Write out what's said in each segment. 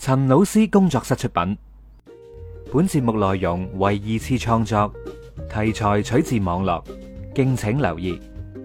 陳老師工作室出品，本節目內容為二次創作，題材取自網絡，敬請留意。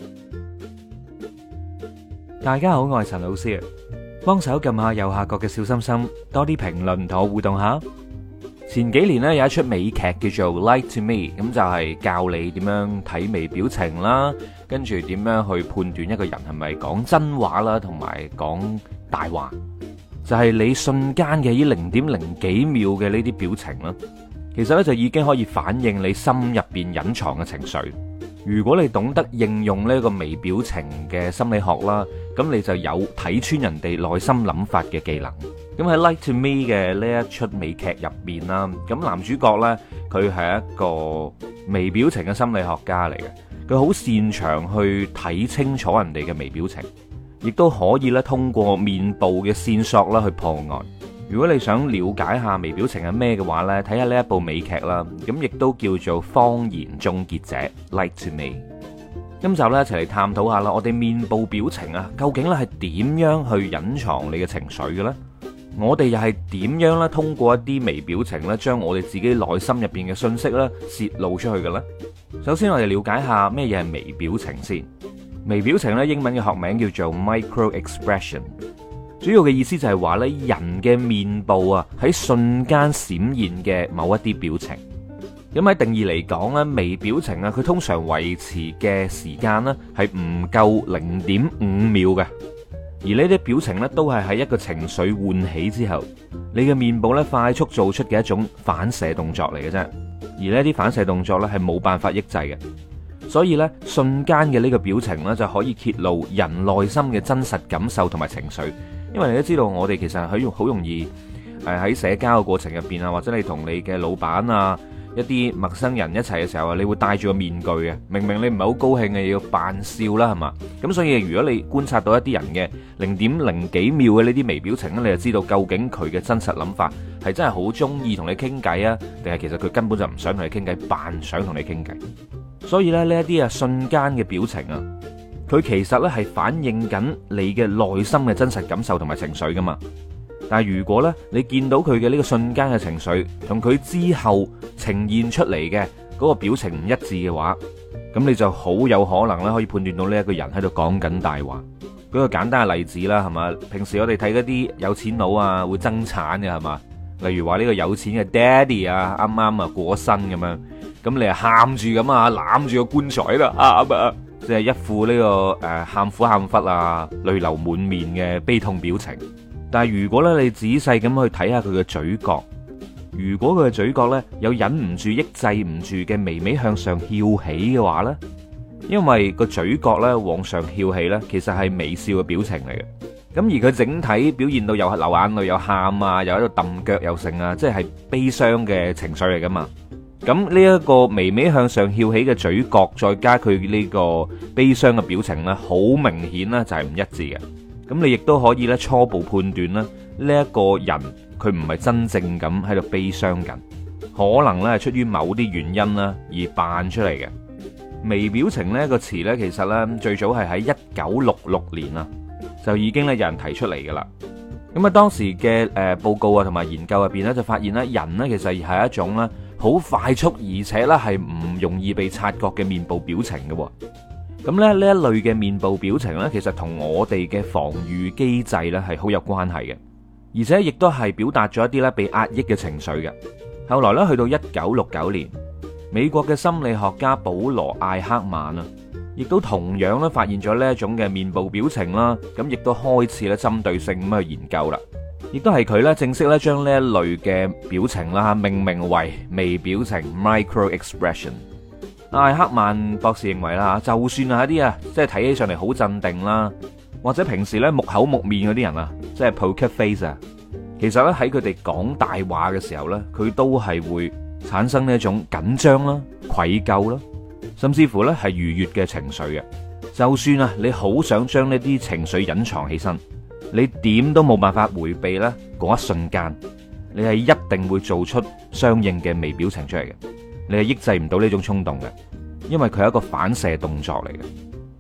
大家好，我係陳老師，幫手撳下右下角嘅小心心，多啲評論同我互動下。前幾年咧有一出美劇叫做《Lie to Me》，咁就係教你點樣睇微表情啦，跟住點樣去判斷一個人係咪講真話啦，同埋講大話。就係你瞬間嘅呢0.0幾秒嘅呢啲表情啦，其實咧就已經可以反映你心入邊隱藏嘅情緒。如果你懂得應用呢個微表情嘅心理學啦，咁你就有睇穿人哋內心諗法嘅技能。咁喺《Lie to Me》嘅呢一出美劇入邊啦，咁男主角呢，佢係一個微表情嘅心理學家嚟嘅，佢好擅長去睇清楚人哋嘅微表情，亦都可以咧通過面部嘅線索啦去破案。如果你想了解下微表情係咩嘅話呢，睇下呢一部美劇啦，咁亦都叫做《謊言終結者》Lie to Me。今集咧一齊嚟探討下啦，我哋面部表情啊，究竟咧係點樣去隱藏你嘅情緒嘅咧？我哋又係點樣咧通過一啲微表情咧，將我哋自己內心入邊嘅信息咧泄露出去嘅咧？首先我哋了解下咩嘢係微表情先。微表情咧英文嘅學名叫做 micro expression， 主要嘅意思就係話咧人嘅面部啊喺瞬間閃現嘅某一啲表情。咁喺定義嚟講咧，微表情啊佢通常維持嘅時間咧係唔夠0.5秒嘅。而呢啲表情咧，都係喺一個情緒喚起之後，你嘅面部咧快速做出嘅一種反射動作嚟嘅啫。而呢啲反射動作咧係冇辦法抑制嘅，所以咧瞬間嘅呢個表情咧就可以揭露人內心嘅真實感受同埋情緒。因為你都知道，我哋其實係好容易喺社交嘅過程入邊啊，或者你同你嘅老闆啊，一啲陌生人一齊嘅時候啊，你會戴住個面具嘅，明明你唔係好高興嘅，要扮笑啦，係嘛？咁所以如果你觀察到一啲人嘅0.0幾秒嘅呢啲微表情咧，你就知道究竟佢嘅真實諗法係真係好中意同你傾偈啊，定係其實佢根本就唔想同你傾偈，扮想同你傾偈。所以咧呢一啲瞬間嘅表情啊，佢其實咧係反映緊你嘅內心嘅真實感受同埋情緒噶嘛。但係如果咧你見到佢嘅呢個瞬間嘅情緒同佢之後呈現出嚟嘅嗰個表情唔一致嘅話，咁你就好有可能咧可以判斷到呢一個人喺度講緊大話。舉個簡單嘅例子啦，係嘛？平時我哋睇嗰啲有錢佬啊會爭產嘅，係嘛？例如話呢個有錢嘅爹哋啊啱啱啊過身咁樣，咁你啊喊住咁啊攬住個棺材喺度喊啊，即係一副呢個喊苦喊忽啊淚流滿面嘅悲痛表情。但係如果咧你仔細咁去睇下佢嘅嘴角，如果佢嘅嘴角咧有忍唔住抑制唔住嘅微微向上翹起嘅話咧，因為個嘴角咧往上翹起咧，其實係微笑嘅表情嚟嘅。咁而佢整體表現到又流眼淚又喊啊，又喺度揼腳又剩啊，即係悲傷嘅情緒嚟噶嘛。咁呢一個微微向上翹起嘅嘴角，再加佢呢個悲傷嘅表情咧，好明顯咧就係唔一致嘅。咁你亦都可以咧初步判斷啦，呢一個人佢唔係真正咁喺度悲傷緊，可能咧係出於某啲原因啦而扮出嚟嘅。微表情呢個詞呢，其實呢最早係喺1966年啊，就已經咧有人提出嚟噶啦。咁啊當時嘅報告啊同埋研究入邊呢，就發現咧人呢其實係一種咧好快速而且咧係唔容易被察覺嘅面部表情嘅。咁咧呢一類嘅面部表情呢，其實同我哋嘅防禦機制呢係好有關係嘅，而且亦都係表達咗一啲咧被壓抑嘅情緒嘅。後來呢，去到1969年，美國嘅心理學家保羅艾克曼啊，亦都同樣咧發現咗呢一種嘅面部表情啦，咁亦都開始咧針對性咁去研究啦。亦都係佢咧正式咧將呢一類嘅表情啦命名為微表情 （micro expression）。艾克曼博士認為啦，就算係一啲啊，即係睇起上嚟好鎮定啦，或者平時咧木口木面嗰啲人啊，即係 poker face 啊，其實咧喺佢哋講大話嘅時候咧，佢都係會產生呢一種緊張啦、愧疚啦，甚至乎咧係愉悅嘅情緒嘅。就算啊，你好想將呢啲情緒隱藏起身，你點都冇辦法回避咧嗰一瞬間，你係一定會做出相應嘅微表情出嚟嘅。你係抑制唔到呢種衝動嘅，因為佢係一個反射動作嚟嘅。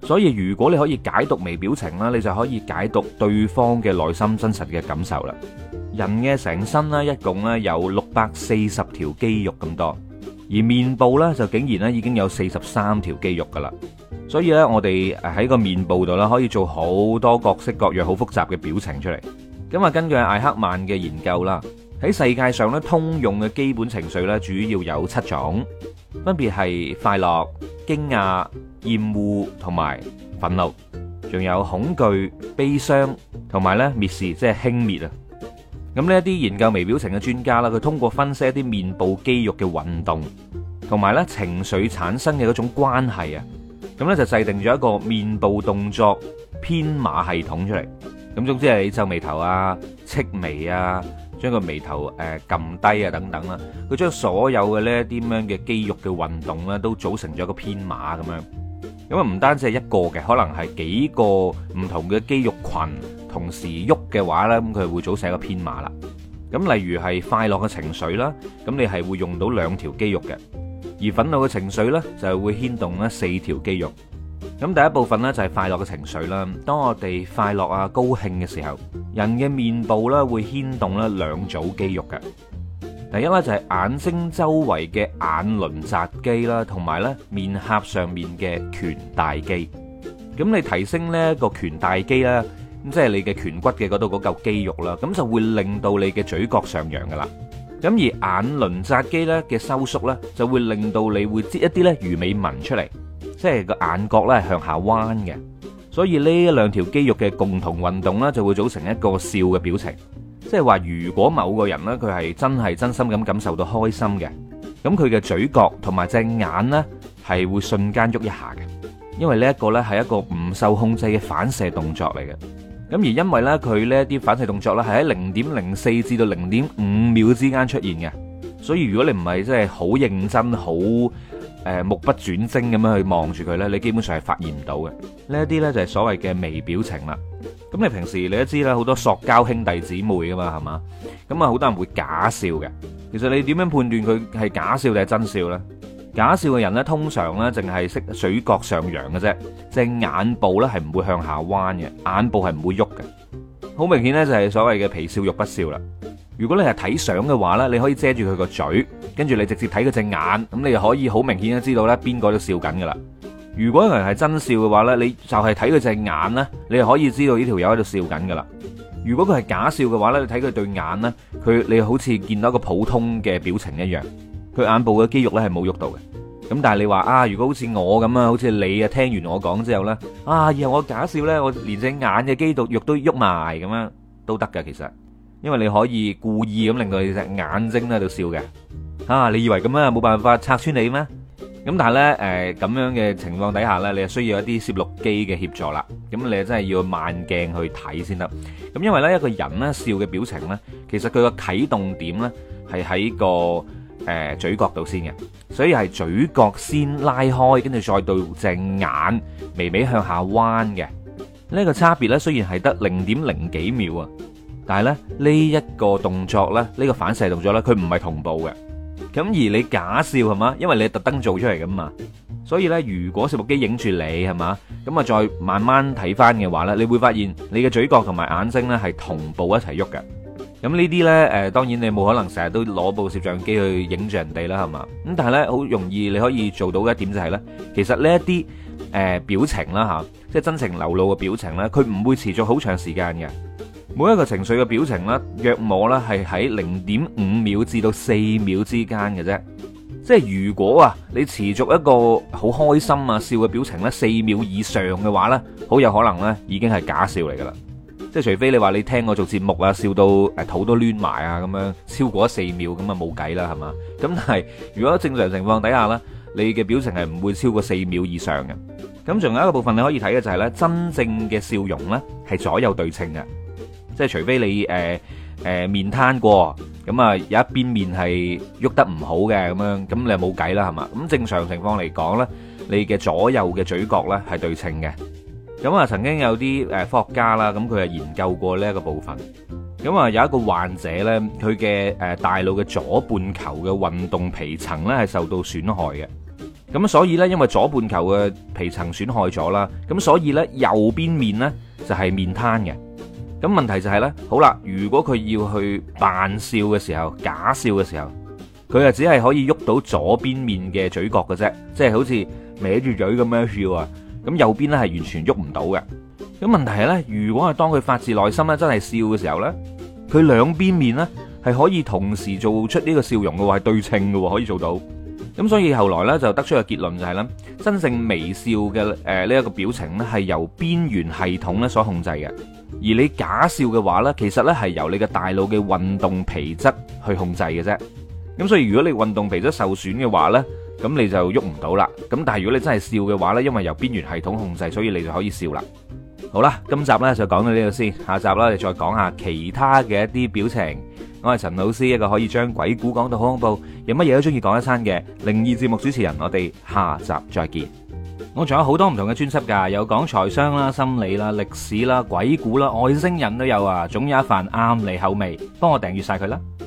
所以如果你可以解讀微表情啦，你就可以解讀對方嘅內心真實嘅感受啦。人嘅成身咧，一共咧有640條肌肉咁多，而面部咧就竟然咧已經有43條肌肉噶啦。所以咧，我哋喺個面部度咧可以做好多各式各樣好複雜嘅表情出嚟。咁啊，根據艾克曼嘅研究啦，喺世界上咧通用嘅基本情緒咧主要有7種，分別係快樂、驚訝、厭惡同埋憤怒，仲有恐懼、悲傷同埋咧蔑視，即係輕蔑啊。咁呢一啲研究微表情嘅專家啦，佢通過分析一啲面部肌肉嘅運動同埋咧情緒產生嘅嗰種關係啊，咁咧就制定咗一個面部動作編碼系統出嚟。咁總之係你皺眉頭啊、戚眉啊、將個眉頭撳低啊等等啦，佢將所有嘅呢一啲咁樣嘅肌肉嘅運動咧，都組成咗一個編碼咁樣。咁啊唔單止係一個嘅，可能係幾個唔同嘅肌肉群同時喐嘅話咧，咁佢會組成一個編碼啦。咁例如係快樂嘅情緒啦，咁你係會用到2條肌肉嘅，而憤怒嘅情緒咧就係會牽動咧4條肌肉。咁第一部分咧就係快樂嘅情緒啦。當我哋快樂啊、高興嘅時候，人嘅面部咧會牽動咧2組肌肉嘅。第一咧就係眼睛周圍嘅眼輪匝肌啦，同埋咧面頰上面嘅顴大肌。咁你提升呢個顴大肌啦，咁即係你嘅顴骨嘅嗰度嗰嚿肌肉啦，咁就會令到你嘅嘴角上揚噶啦。咁而眼輪匝肌咧嘅收縮咧，就會令到你會擠一啲咧魚尾紋出嚟，即係個眼角咧係向下彎嘅。所以呢2條肌肉嘅共同運動咧，就會組成一個笑嘅表情。即係話，如果某個人咧佢係真心咁感受到開心嘅，咁佢嘅嘴角同埋隻眼咧係會瞬間喐一下嘅，因為呢一個咧係一個唔受控制嘅反射動作嚟嘅。咁而因為咧佢呢一啲反射動作咧係喺0.04至到0.5秒之間出現嘅，所以如果你唔係真係好認真、好目不轉睛咁樣去望住佢咧，你基本上係發現唔到嘅。呢一啲咧就係所謂嘅微表情啦。咁你平時你都知啦，好多塑膠兄弟姊妹噶嘛，係嘛？咁啊好多人會假笑嘅。其實你點樣判斷佢係假笑定係真笑呢？假笑嘅人呢，通常呢淨係識嘴角上揚嘅啫，隻眼部呢係唔會向下彎嘅，眼部係唔會喐嘅。好明顯呢，就係所謂嘅皮笑肉不笑啦。如果你係睇相嘅話呢，你可以遮住佢個嘴，跟住你直接睇佢隻眼，咁你就可以好明顯咁知道呢邊個都笑緊噶啦。如果有人係真笑嘅話呢，你就係睇佢隻眼呢，你就可以知道呢條友喺度笑緊噶啦。如果佢係假笑嘅話呢，你睇佢對眼呢，你好似見到一個普通嘅表情一樣，佢眼部嘅肌肉呢係冇喐到嘅。咁但係你話啊，如果好似我咁啊，好似你啊，聽完我講之後呢，啊，以後我假笑呢，我連隻眼嘅肌肉都喐埋咁樣都得噶，其實，因為你可以故意咁令到你隻眼睛喺度笑嘅。啊，你以為咁樣冇辦法拆穿你咩？咁但係咧，咁樣嘅情況底下咧，你係需要一啲攝錄機嘅協助啦。咁你真係要慢鏡去睇先得。咁因為咧，一個人咧笑嘅表情咧，其實佢個啟動點咧係喺個嘴角度先嘅，所以係嘴角先拉開，跟住再到隻眼微微向下彎嘅。呢個差別咧雖然係得0.0幾秒啊，但係咧呢一個動作咧，呢個反射動作咧，佢唔係同步嘅。咁而你假笑係嘛，因為你特登做出嚟噶嘛，所以咧如果攝錄機影住你係嘛，咁啊再慢慢睇翻嘅話咧，你會發現你嘅嘴角同埋眼睛咧係同步一齊喐嘅。咁呢啲咧當然你冇可能成日都攞部攝像機去影住人哋啦係嘛，咁但係咧好容易你可以做到嘅一點就係咧，其實呢一啲表情啦吓，即係真情流露嘅表情咧，佢唔會持續好長時間嘅。每一個情緒嘅表情咧，約莫咧係喺0.5秒至到4秒之間嘅啫。即係如果啊，你持續一個好開心啊笑嘅表情咧4秒以上嘅話咧，好有可能咧已經係假笑嚟噶啦。即係除非你話你聽我做節目啊，笑到肚都攣埋啊咁樣，超過4秒咁啊冇計啦係嘛。咁但係如果正常情況底下咧，你嘅表情係唔會超過4秒以上嘅。咁仲有一個部分你可以睇嘅就係咧，真正嘅笑容咧係左右對稱嘅。即係除非你面癱過，咁啊有一邊面係喐得唔好嘅咁樣，咁你又冇計啦係嘛？咁正常情況嚟講呢，你嘅左右嘅嘴角呢係對稱嘅。咁啊曾經有啲科學家啦，咁佢係研究過呢一個部分。咁啊有一個患者呢，佢嘅大腦嘅左半球嘅運動皮層呢係受到損害嘅。 咁所以呢，因為左半球嘅皮層損害咗啦，咁所以呢，右邊面呢就係面癱嘅。咁問題就係呢，好啦，如果佢要去扮笑嘅時候，假笑嘅時候，佢就只係可以喐到左邊面嘅嘴角嘅啫，即係好似歪住嘴咁樣笑啊。咁右邊呢係完全喐唔到嘅。咁問題係呢，如果係當佢發自內心咧真係笑嘅時候呢，佢兩邊面呢係可以同時做出呢個笑容嘅喎，係對稱嘅喎，可以做到。咁所以後來呢，就得出個結論就係咧，真正微笑嘅呢一個表情呢係由邊緣系統咧所控制嘅。而你假笑嘅話呢，其實呢係由你嘅大腦嘅運動皮質去控制嘅啫。咁所以如果你運動皮質受損嘅話呢，咁你就喐唔到啦。咁但係如果你真係笑嘅話呢，因為由邊緣系統控制，所以你就可以笑啦。好啦，今集呢就講到呢度先，下集啦，你再講下其他嘅一啲表情。我係陳老師，一個可以將鬼故講到好恐怖，有乜嘢都中意講一餐嘅靈異節目主持人。我哋下集再見。我仲有好多唔同嘅專輯噶，有講財商啦、心理啦、歷史啦、鬼故啦、外星人都有啊，總有一份啱你口味，幫我訂閱晒佢啦。